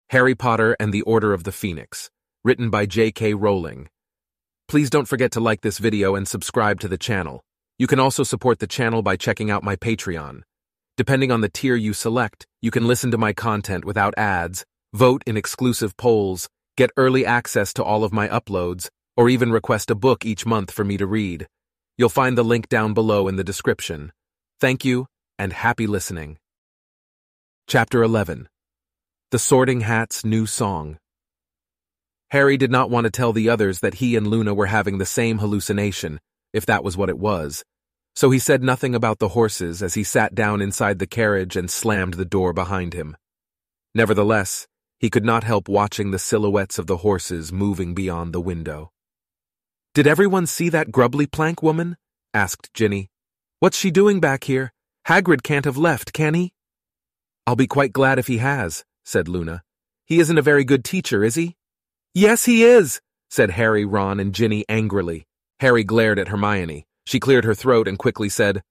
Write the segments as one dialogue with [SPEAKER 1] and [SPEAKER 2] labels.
[SPEAKER 1] Harry Potter and the Order of the Phoenix, written by J.K. Rowling. Please don't forget to like this video and subscribe to the channel. You can also support the channel by checking out my Patreon. Depending on the tier you select, you can listen to my content without ads, vote in exclusive polls, get early access to all of my uploads, or even request a book each month for me to read. You'll find the link down below in the description. Thank you, and happy listening. Chapter 11. The Sorting Hat's New Song. Harry did not want to tell the others that he and Luna were having the same hallucination, if that was what it was, so he said nothing about the horses as he sat down inside the carriage and slammed the door behind him. Nevertheless, he could not help watching the silhouettes of the horses moving beyond the window. "Did everyone see that grubbly plank woman?" asked Ginny. "What's she doing back here? Hagrid can't have left, can he?" "I'll be quite glad if he has," said Luna. "He isn't a very good teacher, is he?" "Yes, he is," said Harry, Ron, and Ginny angrily. Harry glared at Hermione. She cleared her throat and quickly said,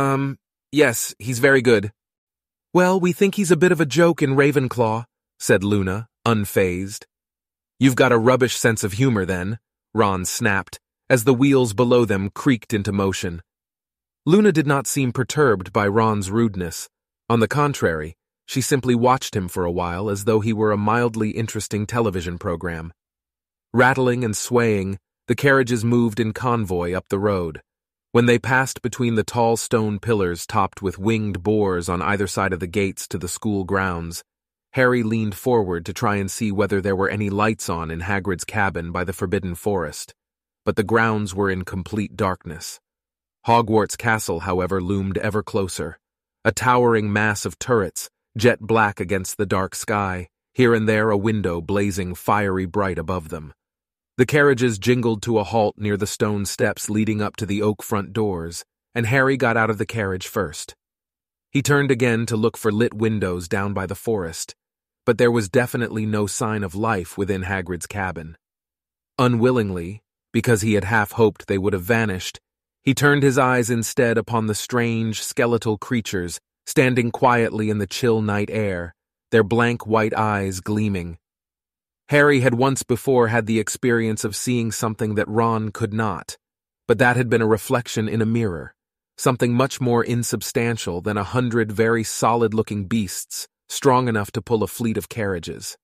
[SPEAKER 1] Yes, he's very good." "Well, we think he's a bit of a joke in Ravenclaw," said Luna, unfazed. "You've got a rubbish sense of humor, then," Ron snapped, as the wheels below them creaked into motion. Luna did not seem perturbed by Ron's rudeness. On the contrary, she simply watched him for a while as though he were a mildly interesting television program. Rattling and swaying, the carriages moved in convoy up the road. When they passed between the tall stone pillars topped with winged boars on either side of the gates to the school grounds, Harry leaned forward to try and see whether there were any lights on in Hagrid's cabin by the Forbidden Forest, but the grounds were in complete darkness. Hogwarts Castle, however, loomed ever closer, a towering mass of turrets, jet black against the dark sky, here and there a window blazing fiery bright above them. The carriages jingled to a halt near the stone steps leading up to the oak front doors, and Harry got out of the carriage first. He turned again to look for lit windows down by the forest, but there was definitely no sign of life within Hagrid's cabin. Unwillingly, because he had half hoped they would have vanished, he turned his eyes instead upon the strange, skeletal creatures standing quietly in the chill night air, their blank white eyes gleaming. Harry had once before had the experience of seeing something that Ron could not, but that had been a reflection in a mirror, something much more insubstantial than 100 very solid-looking beasts, strong enough to pull a fleet of carriages.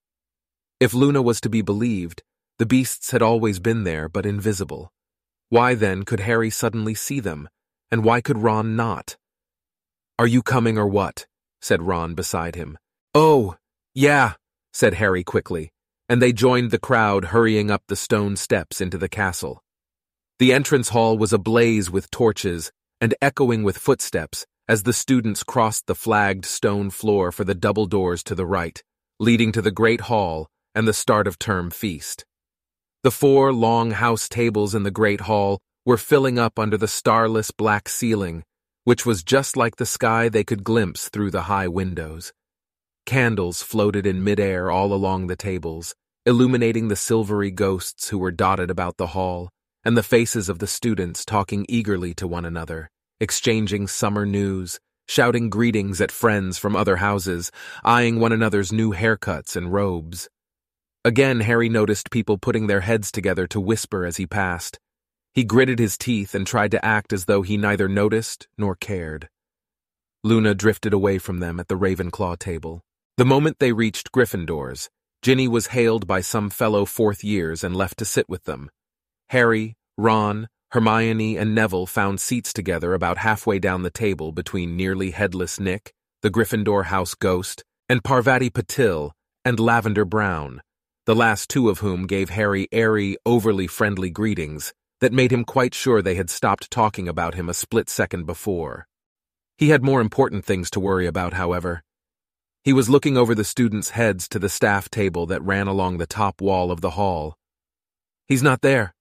[SPEAKER 1] If Luna was to be believed, the beasts had always been there but invisible. Why then could Harry suddenly see them, and why could Ron not? "Are you coming or what?" said Ron beside him. "Oh, yeah," said Harry quickly, and they joined the crowd hurrying up the stone steps into the castle. The entrance hall was ablaze with torches and echoing with footsteps as the students crossed the flagged stone floor for the double doors to the right, leading to the great hall and the start of term feast. The 4 long house tables in the great hall were filling up under the starless black ceiling, which was just like the sky they could glimpse through the high windows. Candles floated in midair all along the tables, illuminating the silvery ghosts who were dotted about the hall, and the faces of the students talking eagerly to one another, exchanging summer news, shouting greetings at friends from other houses, eyeing one another's new haircuts and robes. Again, Harry noticed people putting their heads together to whisper as he passed. He gritted his teeth and tried to act as though he neither noticed nor cared. Luna drifted away from them at the Ravenclaw table. The moment they reached Gryffindor's, Ginny was hailed by some fellow 4th years and left to sit with them. Harry, Ron, Hermione, and Neville found seats together about halfway down the table between nearly headless Nick, the Gryffindor house ghost, and Parvati Patil and Lavender Brown, the last 2 of whom gave Harry airy, overly friendly greetings that made him quite sure they had stopped talking about him a split second before. He had more important things to worry about, however. He was looking over the students' heads to the staff table that ran along the top wall of the hall. "He's not there."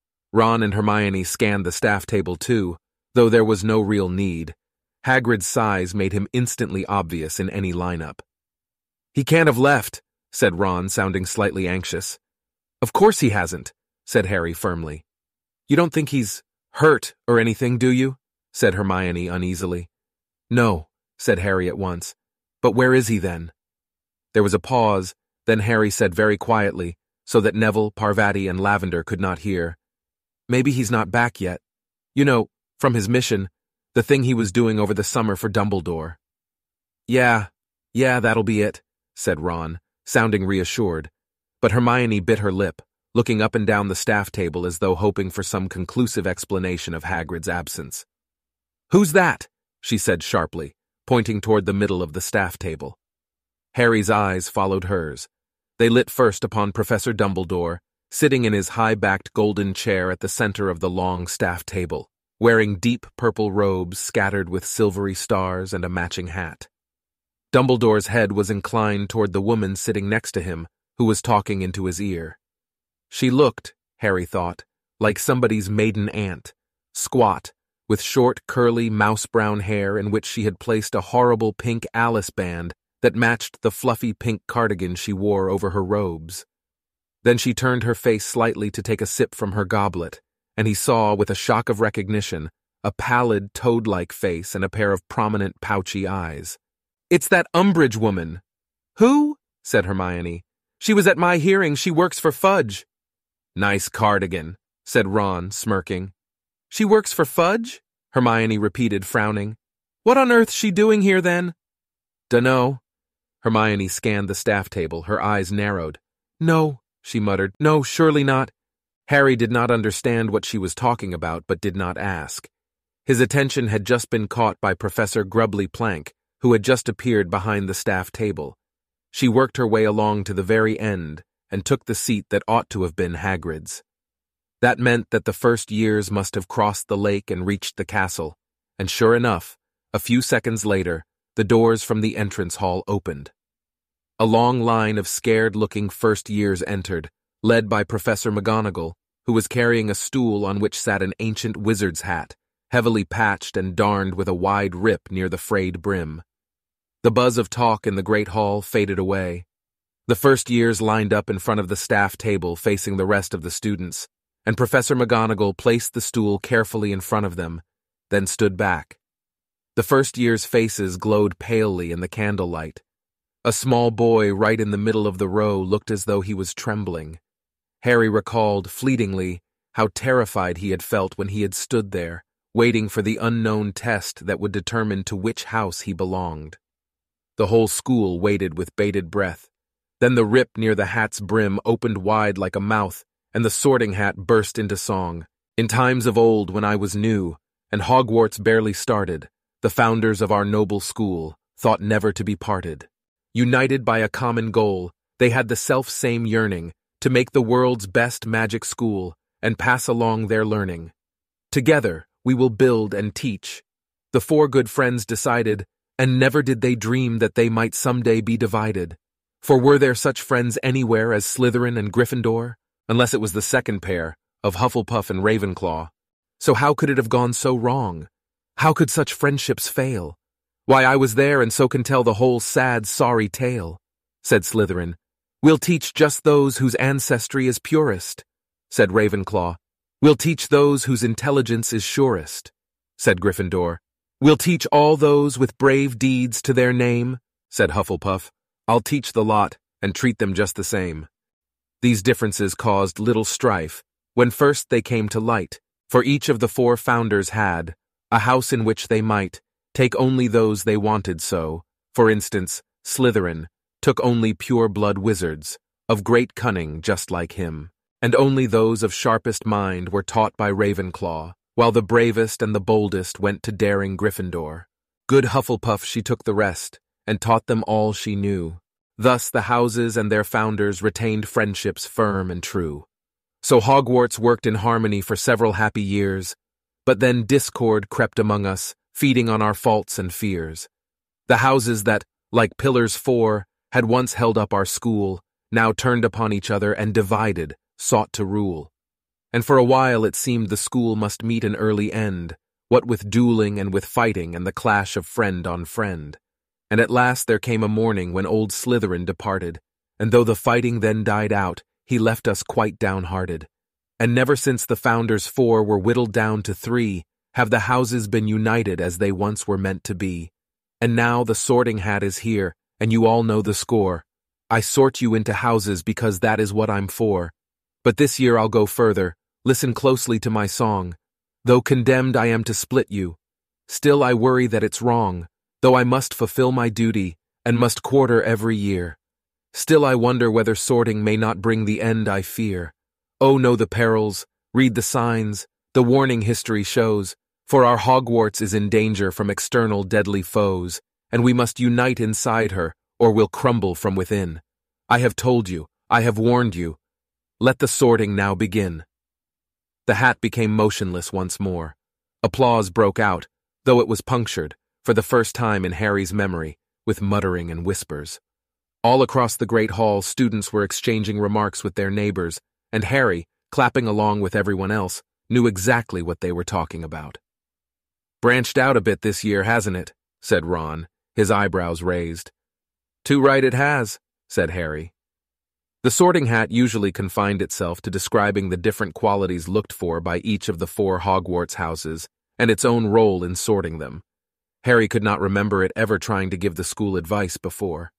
[SPEAKER 1] Ron and Hermione scanned the staff table too, though there was no real need. Hagrid's size made him instantly obvious in any lineup. "He can't have left," said Ron, sounding slightly anxious. "Of course he hasn't," said Harry firmly. "You don't think he's hurt or anything, do you?" said Hermione uneasily. "No," said Harry at once. "But where is he then?" There was a pause, Then Harry said very quietly, so that Neville, Parvati, and Lavender could not hear, "Maybe he's not back yet. You know, from his mission, the thing he was doing over the summer for Dumbledore." Yeah, that'll be it," said Ron, sounding reassured. But Hermione bit her lip, looking up and down the staff table as though hoping for some conclusive explanation of Hagrid's absence. "Who's that?" she said sharply, pointing toward the middle of the staff table. Harry's eyes followed hers. They lit first upon Professor Dumbledore, sitting in his high-backed golden chair at the center of the long staff table, wearing deep purple robes scattered with silvery stars and a matching hat. Dumbledore's head was inclined toward the woman sitting next to him, who was talking into his ear. She looked, Harry thought, like somebody's maiden aunt, squat, with short, curly, mouse-brown hair in which she had placed a horrible pink Alice band that matched the fluffy pink cardigan she wore over her robes. Then she turned her face slightly to take a sip from her goblet, and he saw, with a shock of recognition, a pallid, toad-like face and a pair of prominent, pouchy eyes. "It's that Umbridge woman." "Who?" said Hermione. "She was at my hearing. She works for Fudge." "Nice cardigan," said Ron, smirking. "She works for Fudge?" Hermione repeated, frowning. "What on earth's she doing here, then?" "Dunno." Hermione scanned the staff table, her eyes narrowed. "No," she muttered. "No, surely not." Harry did not understand what she was talking about, but did not ask. His attention had just been caught by Professor Grubbly Plank, who had just appeared behind the staff table. She worked her way along to the very end and took the seat that ought to have been Hagrid's. That meant that the first years must have crossed the lake and reached the castle, and sure enough, a few seconds later, the doors from the entrance hall opened. A long line of scared-looking first years entered, led by Professor McGonagall, who was carrying a stool on which sat an ancient wizard's hat, heavily patched and darned with a wide rip near the frayed brim. The buzz of talk in the great hall faded away. The first years lined up in front of the staff table facing the rest of the students, and Professor McGonagall placed the stool carefully in front of them, then stood back. The first years' faces glowed palely in the candlelight. A small boy right in the middle of the row looked as though he was trembling. Harry recalled, fleetingly, how terrified he had felt when he had stood there, waiting for the unknown test that would determine to which house he belonged. The whole school waited with bated breath. Then the rip near the hat's brim opened wide like a mouth, and the Sorting Hat burst into song. "In times of old, when I was new, and Hogwarts barely started, the founders of our noble school thought never to be parted. United by a common goal, they had the self-same yearning to make the world's best magic school and pass along their learning. Together, we will build and teach." The four good friends decided, and never did they dream that they might someday be divided. For were there such friends anywhere as Slytherin and Gryffindor? Unless it was the second pair, of Hufflepuff and Ravenclaw. So how could it have gone so wrong? How could such friendships fail? "Why, I was there and so can tell the whole sad, sorry tale," said Slytherin. "We'll teach just those whose ancestry is purest," said Ravenclaw. "We'll teach those whose intelligence is surest," said Gryffindor. "We'll teach all those with brave deeds to their name," said Hufflepuff. "I'll teach the lot and treat them just the same." These differences caused little strife when first they came to light, for each of the four founders had a house in which they might take only those they wanted so. For instance, Slytherin took only pure-blood wizards, of great cunning just like him, and only those of sharpest mind were taught by Ravenclaw, while the bravest and the boldest went to daring Gryffindor. Good Hufflepuff she took the rest, and taught them all she knew. Thus the houses and their founders retained friendships firm and true. So Hogwarts worked in harmony for several happy years, but then discord crept among us, feeding on our faults and fears. The houses that, like pillars four, had once held up our school, now turned upon each other and divided, sought to rule. And for a while it seemed the school must meet an early end, what with dueling and with fighting and the clash of friend on friend. And at last there came a morning when old Slytherin departed, and though the fighting then died out, he left us quite downhearted. And never since the founders four were whittled down to three have the houses been united as they once were meant to be. And now the Sorting Hat is here, and you all know the score. I sort you into houses because that is what I'm for. But this year I'll go further. Listen closely to my song. Though condemned I am to split you, still I worry that it's wrong, though I must fulfill my duty, and must quarter every year. Still I wonder whether sorting may not bring the end I fear. Oh, know the perils, read the signs, the warning history shows, for our Hogwarts is in danger from external deadly foes, and we must unite inside her, or we'll crumble from within. I have told you, I have warned you. Let the sorting now begin. The hat became motionless once more. Applause broke out, though it was punctured, for the first time in Harry's memory, with muttering and whispers. All across the great hall, students were exchanging remarks with their neighbors, and Harry, clapping along with everyone else, knew exactly what they were talking about. "Branched out a bit this year, hasn't it?" said Ron, his eyebrows raised. "Too right it has," said Harry. The sorting hat usually confined itself to describing the different qualities looked for by each of the 4 Hogwarts houses, and its own role in sorting them. Harry could not remember it ever trying to give the school advice before.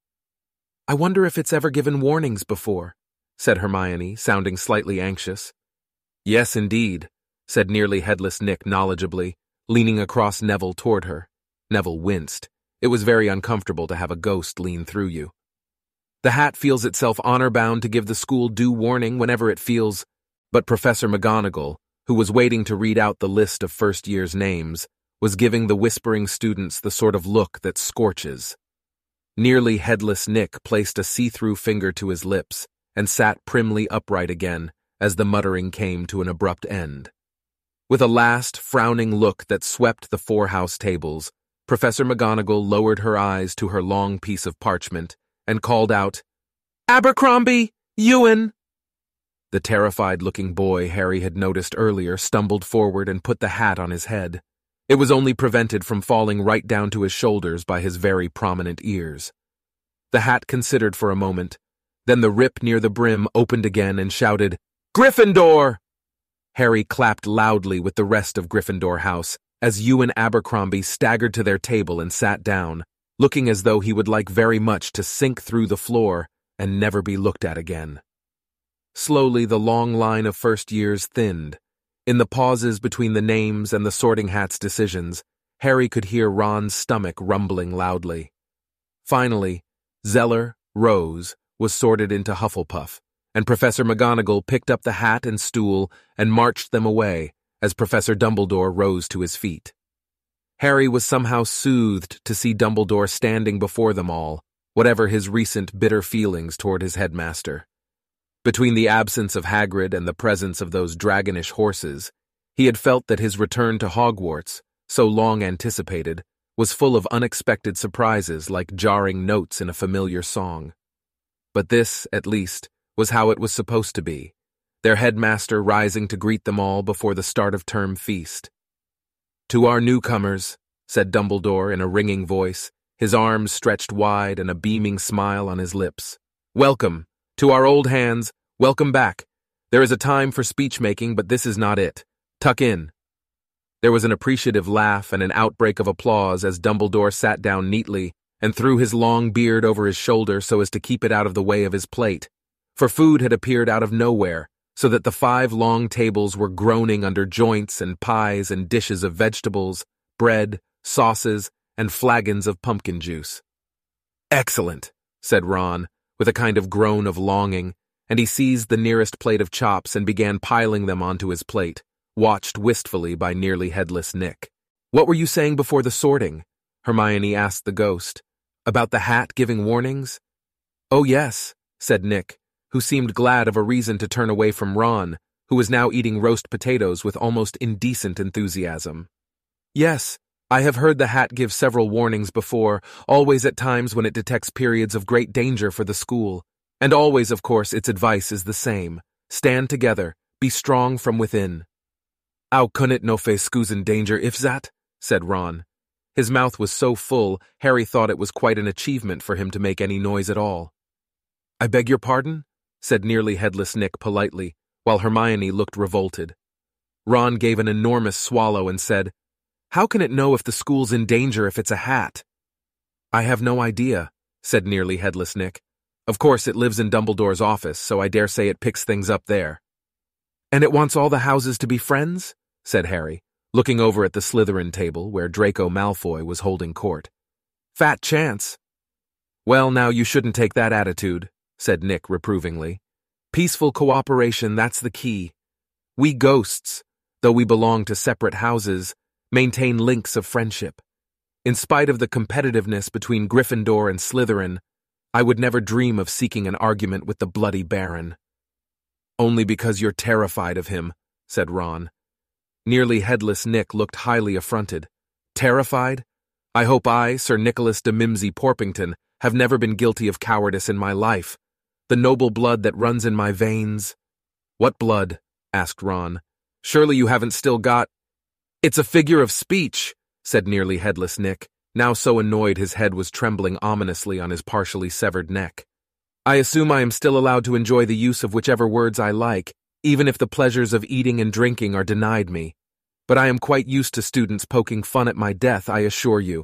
[SPEAKER 1] "I wonder if it's ever given warnings before," said Hermione, sounding slightly anxious. "Yes, indeed," said Nearly Headless Nick knowledgeably, leaning across Neville toward her. Neville winced. It was very uncomfortable to have a ghost lean through you. "The hat feels itself honor-bound to give the school due warning whenever it feels," but Professor McGonagall, who was waiting to read out the list of first year's names, was giving the whispering students the sort of look that scorches. Nearly Headless Nick placed a see-through finger to his lips and sat primly upright again as the muttering came to an abrupt end. With a last, frowning look that swept the 4 house tables, Professor McGonagall lowered her eyes to her long piece of parchment and called out, "Abercrombie! Ewan!" The terrified-looking boy Harry had noticed earlier stumbled forward and put the hat on his head. It was only prevented from falling right down to his shoulders by his very prominent ears. The hat considered for a moment, then the rip near the brim opened again and shouted, "Gryffindor!" Harry clapped loudly with the rest of Gryffindor House as Ewan Abercrombie staggered to their table and sat down, looking as though he would like very much to sink through the floor and never be looked at again. Slowly the long line of first years thinned. In the pauses between the names and the sorting hat's decisions, Harry could hear Ron's stomach rumbling loudly. Finally, Zeller, Rose, was sorted into Hufflepuff, and Professor McGonagall picked up the hat and stool and marched them away as Professor Dumbledore rose to his feet. Harry was somehow soothed to see Dumbledore standing before them all, whatever his recent bitter feelings toward his headmaster. Between the absence of Hagrid and the presence of those dragonish horses, he had felt that his return to Hogwarts, so long anticipated, was full of unexpected surprises like jarring notes in a familiar song. But this, at least, was how it was supposed to be, their headmaster rising to greet them all before the start of term feast. "To our newcomers," said Dumbledore in a ringing voice, his arms stretched wide and a beaming smile on his lips. "Welcome. To our old hands, welcome back. There is a time for speech-making, but this is not it. Tuck in." There was an appreciative laugh and an outbreak of applause as Dumbledore sat down neatly and threw his long beard over his shoulder so as to keep it out of the way of his plate, for food had appeared out of nowhere, so that the 5 long tables were groaning under joints and pies and dishes of vegetables, bread, sauces, and flagons of pumpkin juice. "Excellent," said Ron, with a kind of groan of longing, and he seized the nearest plate of chops and began piling them onto his plate, watched wistfully by Nearly Headless Nick. "What were you saying before the sorting?" Hermione asked the ghost. "About the hat giving warnings?" "Oh, yes," said Nick, who seemed glad of a reason to turn away from Ron, who was now eating roast potatoes with almost indecent enthusiasm. "Yes, I have heard the hat give several warnings before, always at times when it detects periods of great danger for the school. And always, of course, its advice is the same. Stand together, be strong from within." "How can it no fe scusen danger if that?" said Ron. His mouth was so full, Harry thought it was quite an achievement for him to make any noise at all. "I beg your pardon?" said Nearly Headless Nick politely, while Hermione looked revolted. Ron gave an enormous swallow and said, "How can it know if the school's in danger if it's a hat?" "I have no idea," said Nearly Headless Nick. Of course, it lives in Dumbledore's office, so I dare say it picks things up there. And it wants all the houses to be friends? Said Harry, looking over at the Slytherin table where Draco Malfoy was holding court. Fat chance. Well, now you shouldn't take that attitude, said Nick reprovingly. Peaceful cooperation, that's the key. We ghosts, though we belong to separate houses, maintain links of friendship. In spite of the competitiveness between Gryffindor and Slytherin, I would never dream of seeking an argument with the bloody Baron. Only because you're terrified of him, said Ron. Nearly headless Nick looked highly affronted. Terrified? I hope I, Sir Nicholas de Mimsy Porpington, have never been guilty of cowardice in my life. The noble blood that runs in my veins. What blood? Asked Ron. Surely you haven't still got— It's a figure of speech, said nearly headless Nick, now so annoyed his head was trembling ominously on his partially severed neck. I assume I am still allowed to enjoy the use of whichever words I like, even if the pleasures of eating and drinking are denied me. But I am quite used to students poking fun at my death, I assure you.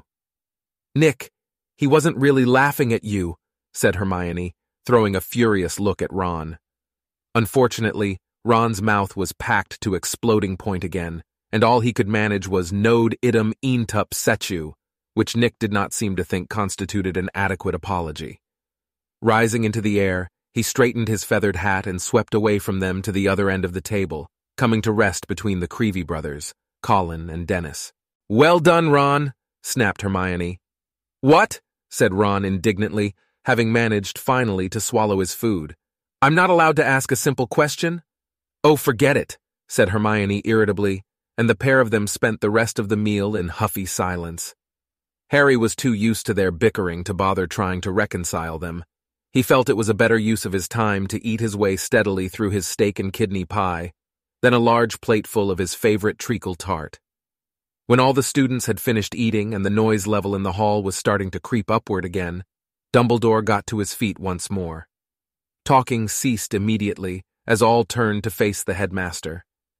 [SPEAKER 1] Nick, he wasn't really laughing at you, said Hermione, throwing a furious look at Ron. Unfortunately, Ron's mouth was packed to exploding point again, and all he could manage was Node idem Eantup Sechu, which Nick did not seem to think constituted an adequate apology. Rising into the air, he straightened his feathered hat and swept away from them to the other end of the table, coming to rest between the Creevey brothers, Colin and Dennis. Well done, Ron, snapped Hermione. What? Said Ron indignantly, having managed finally to swallow his food. I'm not allowed to ask a simple question? Oh, forget it, said Hermione irritably, and the pair of them spent the rest of the meal in huffy silence. Harry was too used to their bickering to bother trying to reconcile them. He felt it was a better use of his time to eat his way steadily through his steak and kidney pie than a large plateful of his favorite treacle tart. When all the students had finished eating and the noise level in the hall was starting to creep upward again, Dumbledore got to his feet once more. Talking ceased immediately as all turned to face the headmaster.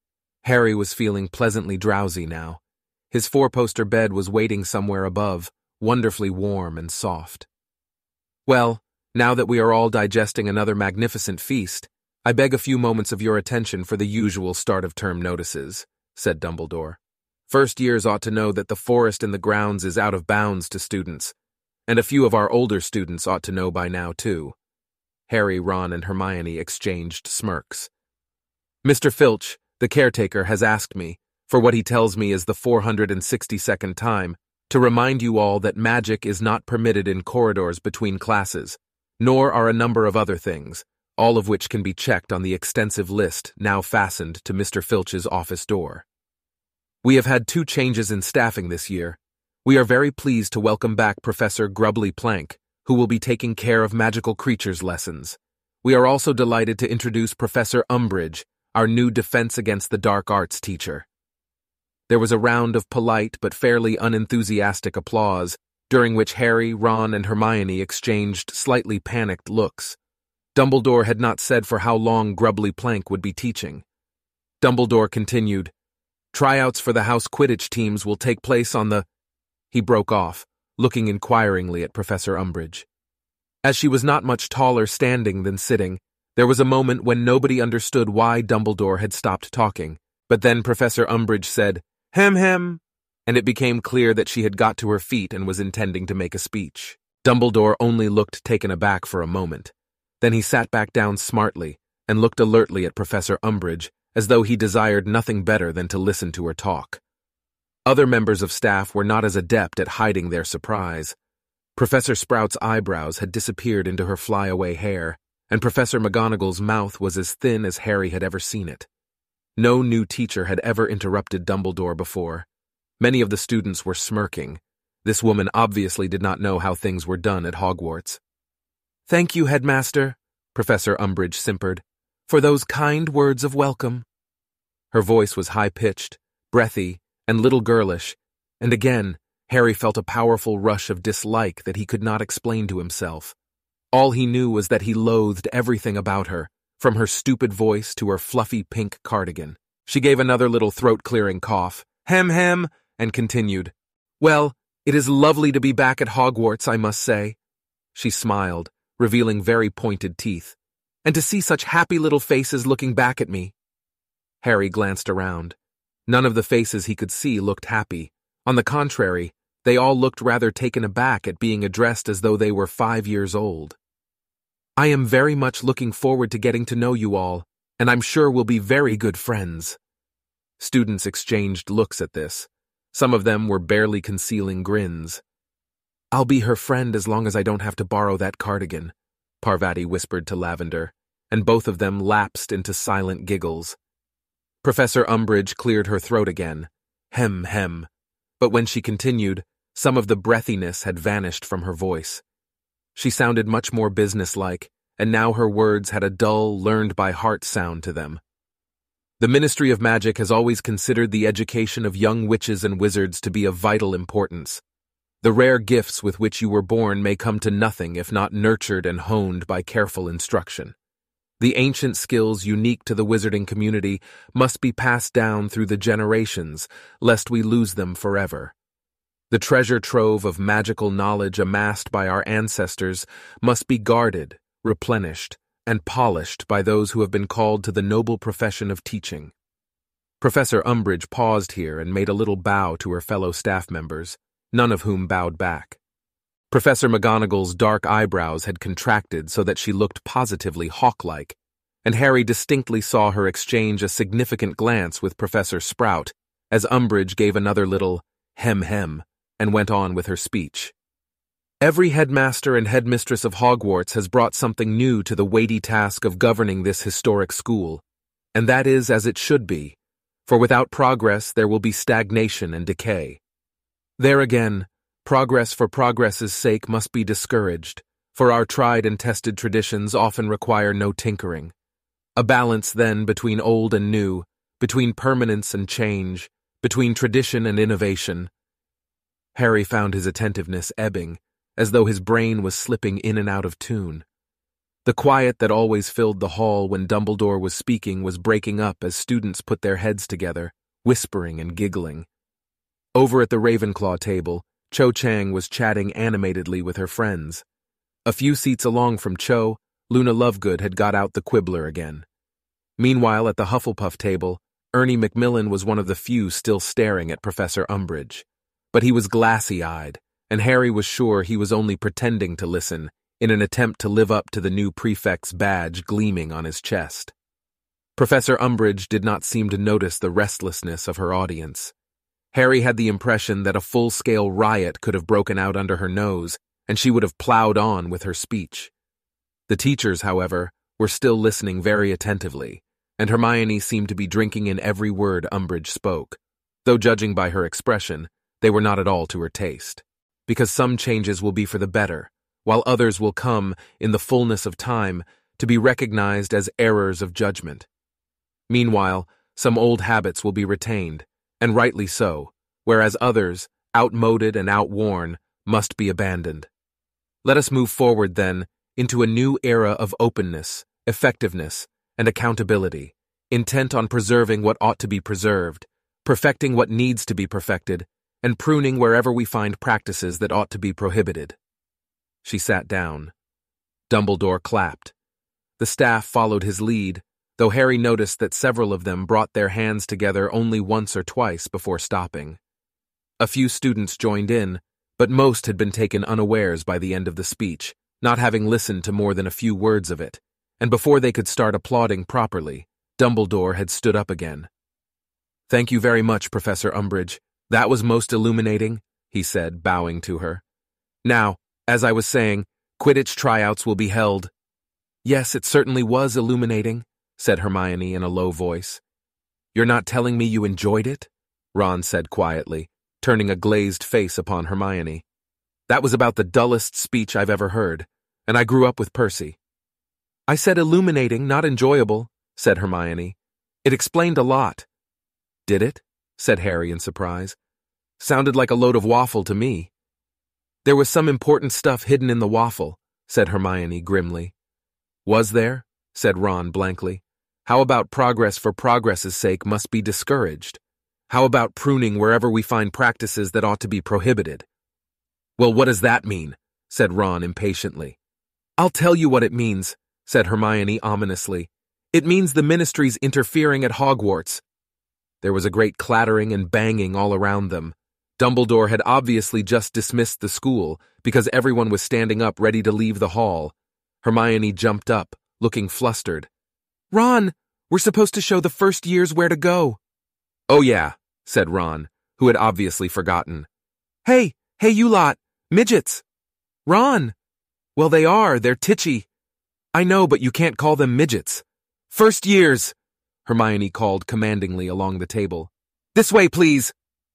[SPEAKER 1] Harry was feeling pleasantly drowsy now. His four-poster bed was waiting somewhere above, wonderfully warm and soft. Well, now that we are all digesting another magnificent feast, I beg a few moments of your attention for the usual start-of-term notices, said Dumbledore. First years ought to know that the forest in the grounds is out of bounds to students, and a few of our older students ought to know by now, too. Harry, Ron, and Hermione exchanged smirks. Mr. Filch, the caretaker, has asked me, for what he tells me is the 462nd time, to remind you all that magic is not permitted in corridors between classes, nor are a number of other things, all of which can be checked on the extensive list now fastened to Mr. Filch's office door. We have had 2 changes in staffing this year. We are very pleased to welcome back Professor Grubbly Plank, who will be taking care of magical creatures lessons. We are also delighted to introduce Professor Umbridge, our new Defense Against the Dark Arts teacher. There was a round of polite but fairly unenthusiastic applause, during which Harry, Ron, and Hermione exchanged slightly panicked looks. Dumbledore had not said for how long Grubbly Plank would be teaching. Dumbledore continued, Tryouts for the house Quidditch teams will take place on the— He broke off, looking inquiringly at Professor Umbridge. As she was not much taller standing than sitting, there was a moment when nobody understood why Dumbledore had stopped talking, but then Professor Umbridge said, Hem, and it became clear that she had got to her feet and was intending to make a speech. Dumbledore only looked taken aback for a moment. Then he sat back down smartly and looked alertly at Professor Umbridge, as though he desired nothing better than to listen to her talk. Other members of staff were not as adept at hiding their surprise. Professor Sprout's eyebrows had disappeared into her flyaway hair, and Professor McGonagall's mouth was as thin as Harry had ever seen it. No new teacher had ever interrupted Dumbledore before. Many of the students were smirking. This woman obviously did not know how things were done at Hogwarts. Thank you, Headmaster, Professor Umbridge simpered, for those kind words of welcome. Her voice was high-pitched, breathy, and little girlish, and again, Harry felt a powerful rush of dislike that he could not explain to himself. All he knew was that he loathed everything about her, from her stupid voice to her fluffy pink cardigan. She gave another little throat-clearing cough, hem, and continued, Well, it is lovely to be back at Hogwarts, I must say. She smiled, revealing very pointed teeth. "And to see such happy little faces looking back at me." Harry glanced around. None of the faces he could see looked happy. On the contrary, they all looked rather taken aback at being addressed as though they were 5 years old. "I am very much looking forward to getting to know you all, and I'm sure we'll be very good friends." Students exchanged looks at this. Some of them were barely concealing grins. "I'll be her friend as long as I don't have to borrow that cardigan," Parvati whispered to Lavender, and both of them lapsed into silent giggles. Professor Umbridge cleared her throat again. Hem, hem. But when she continued, some of the breathiness had vanished from her voice. She sounded much more businesslike, and now her words had a dull, learned-by-heart sound to them. "The Ministry of Magic has always considered the education of young witches and wizards to be of vital importance. The rare gifts with which you were born may come to nothing if not nurtured and honed by careful instruction. The ancient skills unique to the wizarding community must be passed down through the generations, lest we lose them forever. The treasure trove of magical knowledge amassed by our ancestors must be guarded, replenished, and polished by those who have been called to the noble profession of teaching." Professor Umbridge paused here and made a little bow to her fellow staff members, none of whom bowed back. Professor McGonagall's dark eyebrows had contracted so that she looked positively hawk-like, and Harry distinctly saw her exchange a significant glance with Professor Sprout as Umbridge gave another little hem-hem and went on with her speech. "Every headmaster and headmistress of Hogwarts has brought something new to the weighty task of governing this historic school, and that is as it should be, for without progress there will be stagnation and decay. There again, progress for progress's sake must be discouraged, for our tried and tested traditions often require no tinkering. A balance, then, between old and new, between permanence and change, between tradition and innovation." Harry found his attentiveness ebbing, as though his brain was slipping in and out of tune. The quiet that always filled the hall when Dumbledore was speaking was breaking up as students put their heads together, whispering and giggling. Over at the Ravenclaw table, Cho Chang was chatting animatedly with her friends. A few seats along from Cho, Luna Lovegood had got out the quibbler again. Meanwhile, at the Hufflepuff table, Ernie Macmillan was one of the few still staring at Professor Umbridge. But he was glassy-eyed, and Harry was sure he was only pretending to listen in an attempt to live up to the new prefect's badge gleaming on his chest. Professor Umbridge did not seem to notice the restlessness of her audience. Harry had the impression that a full-scale riot could have broken out under her nose, and she would have plowed on with her speech. The teachers, however, were still listening very attentively, and Hermione seemed to be drinking in every word Umbridge spoke, though judging by her expression, they were not at all to her taste, because some changes will be for the better, while others will come, in the fullness of time, to be recognized as errors of judgment. Meanwhile, some old habits will be retained, and rightly so, whereas others, outmoded and outworn, must be abandoned. Let us move forward, then, into a new era of openness, effectiveness, and accountability, intent on preserving what ought to be preserved, perfecting what needs to be perfected, and pruning wherever we find practices that ought to be prohibited." She sat down. Dumbledore clapped. The staff followed his lead, though Harry noticed that several of them brought their hands together only once or twice before stopping. A few students joined in, but most had been taken unawares by the end of the speech, not having listened to more than a few words of it, and before they could start applauding properly, Dumbledore had stood up again. "Thank you very much, Professor Umbridge. That was most illuminating," he said, bowing to her. "Now, as I was saying, Quidditch tryouts will be held." "Yes, it certainly was illuminating," said Hermione in a low voice. "You're not telling me you enjoyed it?" Ron said quietly, turning a glazed face upon Hermione. "That was about the dullest speech I've ever heard, and I grew up with Percy." "I said illuminating, not enjoyable," said Hermione. "It explained a lot." "Did it?" said Harry in surprise. "Sounded like a load of waffle to me." "There was some important stuff hidden in the waffle," said Hermione grimly. "Was there?" said Ron blankly. "How about progress for progress's sake must be discouraged? How about pruning wherever we find practices that ought to be prohibited?" "Well, what does that mean?" said Ron impatiently. "I'll tell you what it means," said Hermione ominously. "It means the Ministry's interfering at Hogwarts." There was a great clattering and banging all around them. Dumbledore had obviously just dismissed the school, because everyone was standing up ready to leave the hall. Hermione jumped up, looking flustered. "Ron, we're supposed to show the first years where to go." "Oh yeah," said Ron, who had obviously forgotten. Hey, you lot, midgets." "Ron." "Well, they're titchy." "I know, but you can't call them midgets." "First years," Hermione called commandingly along the table. "This way, please."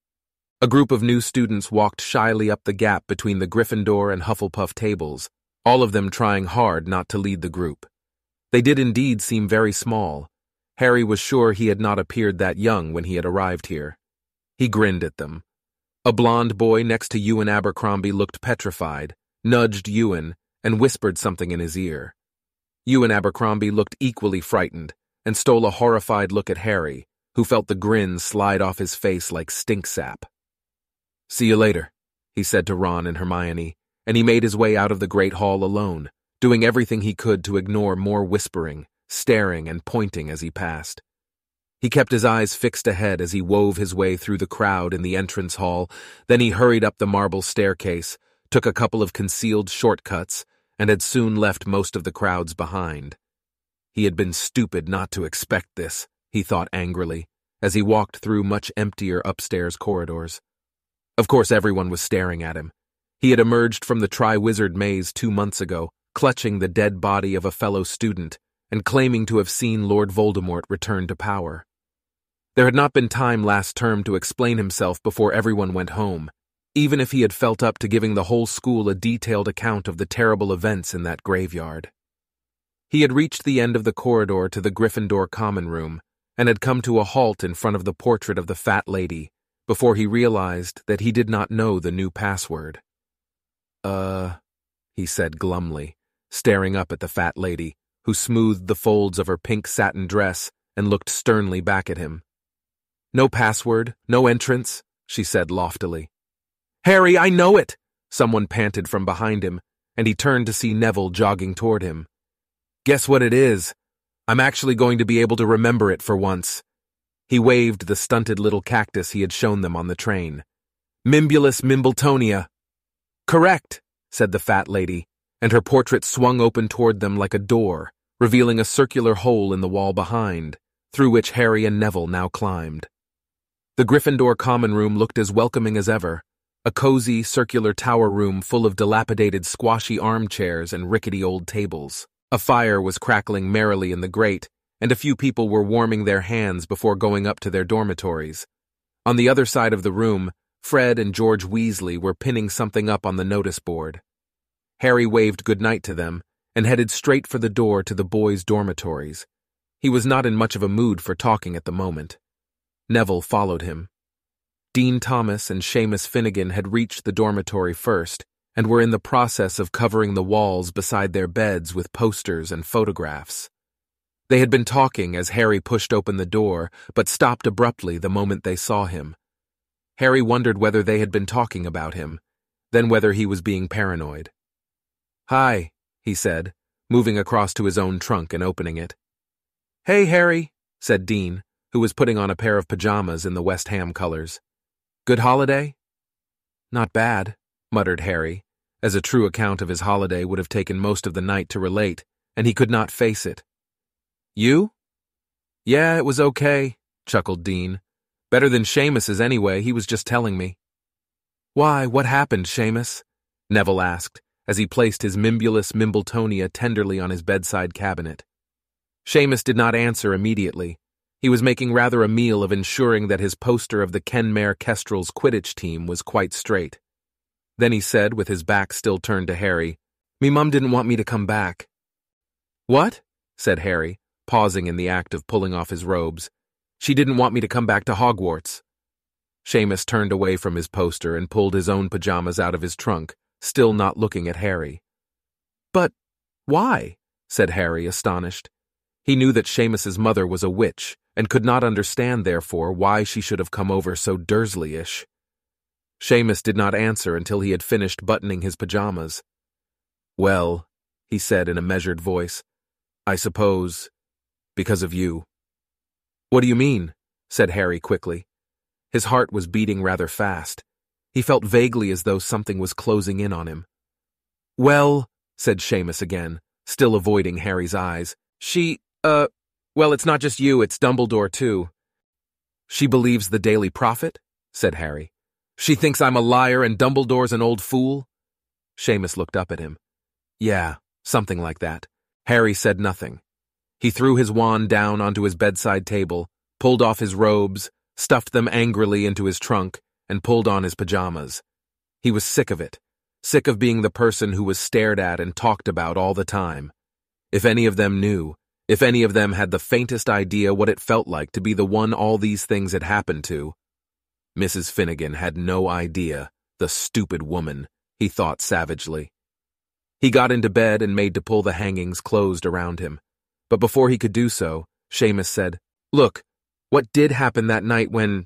[SPEAKER 1] A group of new students walked shyly up the gap between the Gryffindor and Hufflepuff tables, all of them trying hard not to lead the group. They did indeed seem very small. Harry was sure he had not appeared that young when he had arrived here. He grinned at them. A blond boy next to Ewan Abercrombie looked petrified, nudged Ewan, and whispered something in his ear. Ewan Abercrombie looked equally frightened and stole a horrified look at Harry, who felt the grin slide off his face like stink sap. "See you later," he said to Ron and Hermione, and he made his way out of the Great Hall alone, doing everything he could to ignore more whispering, staring, and pointing as he passed. He kept his eyes fixed ahead as he wove his way through the crowd in the entrance hall, then he hurried up the marble staircase, took a couple of concealed shortcuts, and had soon left most of the crowds behind. He had been stupid not to expect this, he thought angrily, as he walked through much emptier upstairs corridors. Of course everyone was staring at him. He had emerged from the Triwizard Maze 2 months ago, clutching the dead body of a fellow student, and claiming to have seen Lord Voldemort return to power. There had not been time last term to explain himself before everyone went home, even if he had felt up to giving the whole school a detailed account of the terrible events in that graveyard. He had reached the end of the corridor to the Gryffindor common room, and had come to a halt in front of the portrait of the fat lady, before he realized that he did not know the new password. He said glumly, staring up at the fat lady, who smoothed the folds of her pink satin dress and looked sternly back at him. "No password, no entrance," she said loftily. "Harry, I know it!" someone panted from behind him, and he turned to see Neville jogging toward him. "Guess what it is? I'm actually going to be able to remember it for once." He waved the stunted little cactus he had shown them on the train. "Mimbulus Mimbletonia." "Correct," said the fat lady, and her portrait swung open toward them like a door, revealing a circular hole in the wall behind, through which Harry and Neville now climbed. The Gryffindor common room looked as welcoming as ever, a cozy, circular tower room full of dilapidated squashy armchairs and rickety old tables. A fire was crackling merrily in the grate, and a few people were warming their hands before going up to their dormitories. On the other side of the room, Fred and George Weasley were pinning something up on the notice board. Harry waved goodnight to them and headed straight for the door to the boys' dormitories. He was not in much of a mood for talking at the moment. Neville followed him. Dean Thomas and Seamus Finnegan had reached the dormitory first and were in the process of covering the walls beside their beds with posters and photographs. They had been talking as Harry pushed open the door, but stopped abruptly the moment they saw him. Harry wondered whether they had been talking about him, then whether he was being paranoid. "Hi," he said, moving across to his own trunk and opening it. "Hey, Harry," said Dean, who was putting on a pair of pajamas in the West Ham colors. "Good holiday?" "Not bad," muttered Harry, as a true account of his holiday would have taken most of the night to relate, and he could not face it. "You?" "Yeah, it was okay," chuckled Dean. "Better than Seamus's anyway, he was just telling me." "Why, what happened, Seamus?" Neville asked, as he placed his Mimbulus Mimbletonia tenderly on his bedside cabinet. Seamus did not answer immediately. He was making rather a meal of ensuring that his poster of the Kenmare Kestrels Quidditch team was quite straight. Then he said, with his back still turned to Harry, "Me mum didn't want me to come back." "What?" said Harry, pausing in the act of pulling off his robes. "She didn't want me to come back to Hogwarts." Seamus turned away from his poster and pulled his own pajamas out of his trunk, still not looking at Harry. "But why?" said Harry, astonished. He knew that Seamus's mother was a witch, and could not understand, therefore, why she should have come over so Dursley-ish. Seamus did not answer until he had finished buttoning his pajamas. "Well," he said in a measured voice. I suppose, because of you. What do you mean? Said Harry quickly. His heart was beating rather fast. He felt vaguely as though something was closing in on him. Well, said Seamus again, still avoiding Harry's eyes. Well, it's not just you, it's Dumbledore too. She believes the Daily Prophet? Said Harry. She thinks I'm a liar and Dumbledore's an old fool? Seamus looked up at him. Yeah, something like that. Harry said nothing. He threw his wand down onto his bedside table, pulled off his robes, stuffed them angrily into his trunk, and pulled on his pajamas. He was sick of it, sick of being the person who was stared at and talked about all the time. If any of them knew, if any of them had the faintest idea what it felt like to be the one all these things had happened to. Mrs. Finnegan had no idea, the stupid woman, he thought savagely. He got into bed and made to pull the hangings closed around him. But before he could do so, Seamus said, Look, what did happen that night when,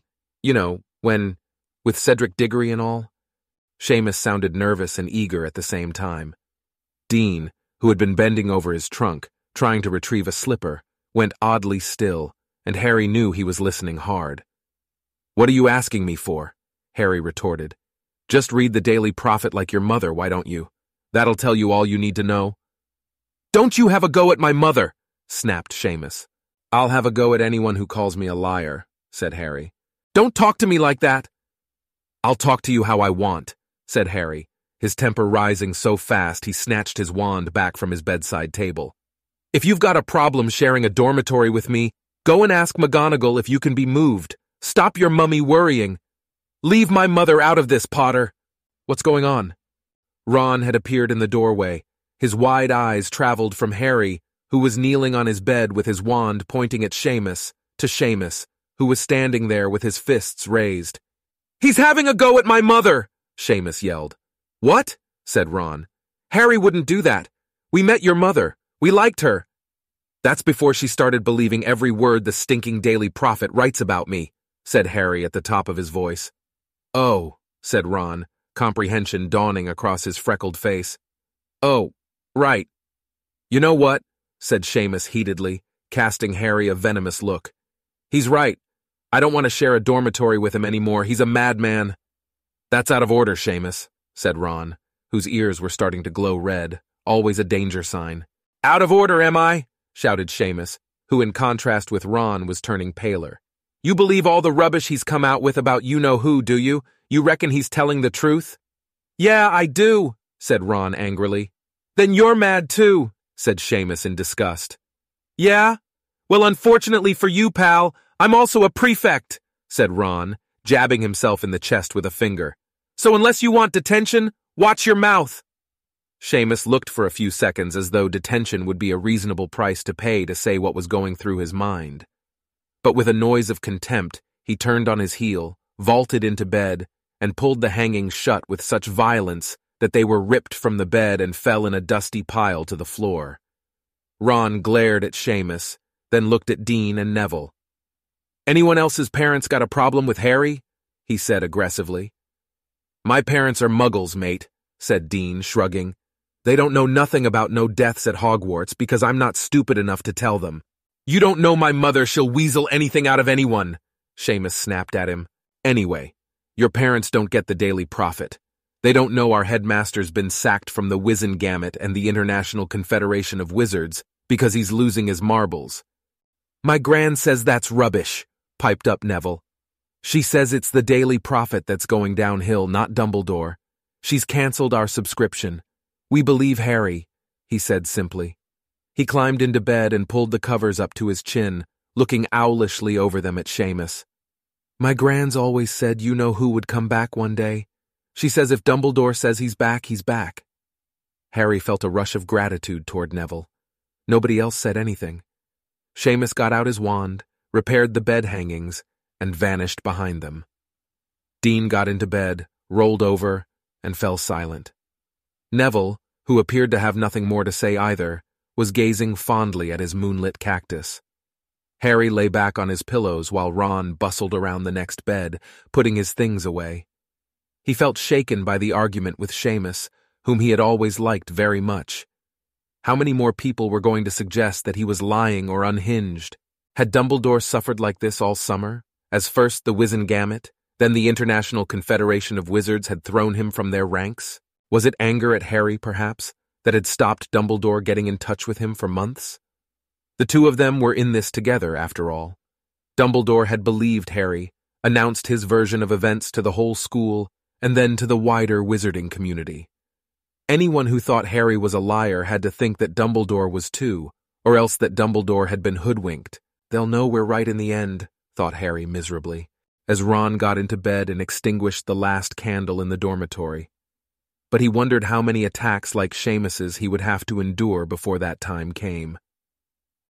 [SPEAKER 1] with Cedric Diggory and all? Seamus sounded nervous and eager at the same time. Dean, who had been bending over his trunk, trying to retrieve a slipper, went oddly still, and Harry knew he was listening hard. What are you asking me for? Harry retorted. Just read the Daily Prophet like your mother, why don't you? That'll tell you all you need to know. Don't you have a go at my mother, snapped Seamus. I'll have a go at anyone who calls me a liar, said Harry. Don't talk to me like that. I'll talk to you how I want, said Harry, his temper rising so fast he snatched his wand back from his bedside table. If you've got a problem sharing a dormitory with me, go and ask McGonagall if you can be moved. Stop your mummy worrying. Leave my mother out of this, Potter. What's going on? Ron had appeared in the doorway. His wide eyes traveled from Harry, who was kneeling on his bed with his wand pointing at Seamus, to Seamus, who was standing there with his fists raised. He's having a go at my mother, Seamus yelled. What? Said Ron. Harry wouldn't do that. We met your mother. We liked her. That's before she started believing every word the stinking Daily Prophet writes about me, said Harry at the top of his voice. Oh, said Ron, comprehension dawning across his freckled face. Oh, right. You know what? Said Seamus heatedly, casting Harry a venomous look. He's right. I don't want to share a dormitory with him anymore. He's a madman. That's out of order, Seamus, said Ron, whose ears were starting to glow red, always a danger sign. Out of order, am I? Shouted Seamus, who in contrast with Ron was turning paler. You believe all the rubbish he's come out with about you-know-who, do you? You reckon he's telling the truth? Yeah, I do, said Ron angrily. Then you're mad too, said Seamus in disgust. Yeah? Well, unfortunately for you, pal, I'm also a prefect, said Ron, jabbing himself in the chest with a finger. So unless you want detention, watch your mouth. Seamus looked for a few seconds as though detention would be a reasonable price to pay to say what was going through his mind. But with a noise of contempt, he turned on his heel, vaulted into bed, and pulled the hangings shut with such violence that they were ripped from the bed and fell in a dusty pile to the floor. Ron glared at Seamus, then looked at Dean and Neville. Anyone else's parents got a problem with Harry? He said aggressively. My parents are muggles, mate, said Dean, shrugging. They don't know nothing about no deaths at Hogwarts because I'm not stupid enough to tell them. You don't know my mother, she'll weasel anything out of anyone, Seamus snapped at him. Anyway, your parents don't get the Daily Prophet. They don't know our headmaster's been sacked from the Wizengamot and the International Confederation of Wizards because he's losing his marbles. My gran says that's rubbish, piped up Neville. She says it's the Daily Prophet that's going downhill, not Dumbledore. She's cancelled our subscription. We believe Harry, he said simply. He climbed into bed and pulled the covers up to his chin, looking owlishly over them at Seamus. My gran's always said you-know-who would come back one day. She says if Dumbledore says he's back, he's back. Harry felt a rush of gratitude toward Neville. Nobody else said anything. Seamus got out his wand, repaired the bed hangings, and vanished behind them. Dean got into bed, rolled over, and fell silent. Neville, who appeared to have nothing more to say either, was gazing fondly at his moonlit cactus. Harry lay back on his pillows while Ron bustled around the next bed, putting his things away. He felt shaken by the argument with Seamus, whom he had always liked very much. How many more people were going to suggest that he was lying or unhinged? Had Dumbledore suffered like this all summer, as first the Wizengamot, then the International Confederation of Wizards had thrown him from their ranks? Was it anger at Harry, perhaps, that had stopped Dumbledore getting in touch with him for months? The two of them were in this together, after all. Dumbledore had believed Harry, announced his version of events to the whole school, and then to the wider wizarding community. Anyone who thought Harry was a liar had to think that Dumbledore was too, or else that Dumbledore had been hoodwinked. They'll know we're right in the end, thought Harry miserably, as Ron got into bed and extinguished the last candle in the dormitory. But he wondered how many attacks like Seamus's he would have to endure before that time came.